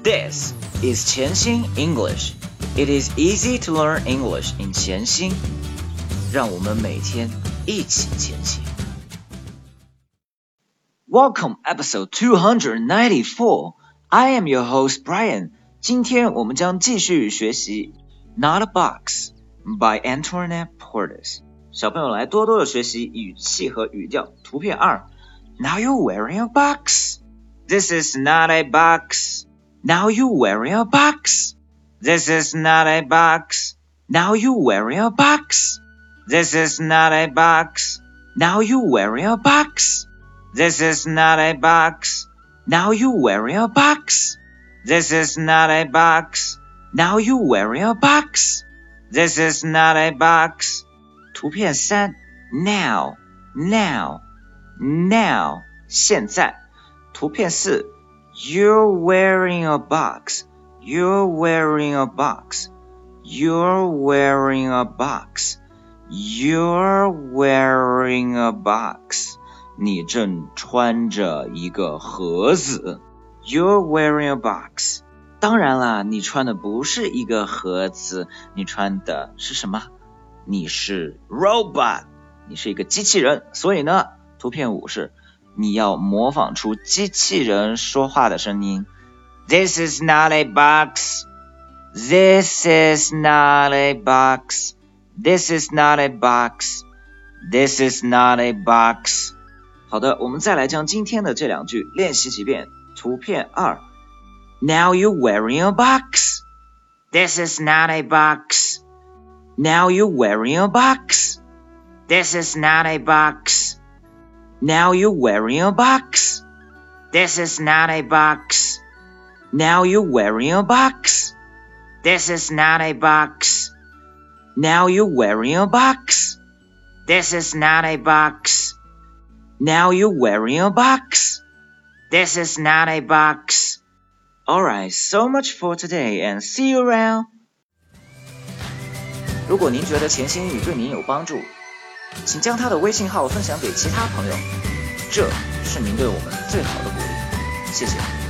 This is 潜心 English. It is easy to learn English in 潜心。让我们每天一起前行。Welcome episode 294. I am your host Brian. 今天我们将继续学习 Not a Box by Antoinette Portis. 小朋友来多多的学习语气和语调。图片2 Now you're wearing a box. This is not a box. Now you're wearing a box. This is not a box. Now you're wearing a box. This is not a box. Now you're wearing a box. This is not a box. Now you're wearing a box. This is not a box. Now you're wearing a box. This is not a box. 图片3 Now, now, now 现在。图片4 You're wearing a box. You're wearing a box. You're wearing a box. You're wearing a box. 你正穿着一个盒子。You're wearing a box. 当然啦，你穿的不是一个盒子，你穿的是什么？你是 robot. 你是一个机器人。所以呢，图片5是你要模仿出机器人说话的声音。This is not a box. This is not a box. This is not a box. This is not a box. 好的，我们再来将今天的这两句练习几遍。图片2 Now you're wearing a box. This is not a box. Now you're wearing a box. This is not a box. Now you're wearing a box. This is not a box. Now you're wearing a box. This is not a box. Now you're wearing a box. This is not a box. Now you're wearing a box. This is not a box. Alright, so much for today and see you around. 如果您觉得潜心英语对您有帮助，请将他的微信号分享给其他朋友，这是您对我们最好的鼓励。谢谢。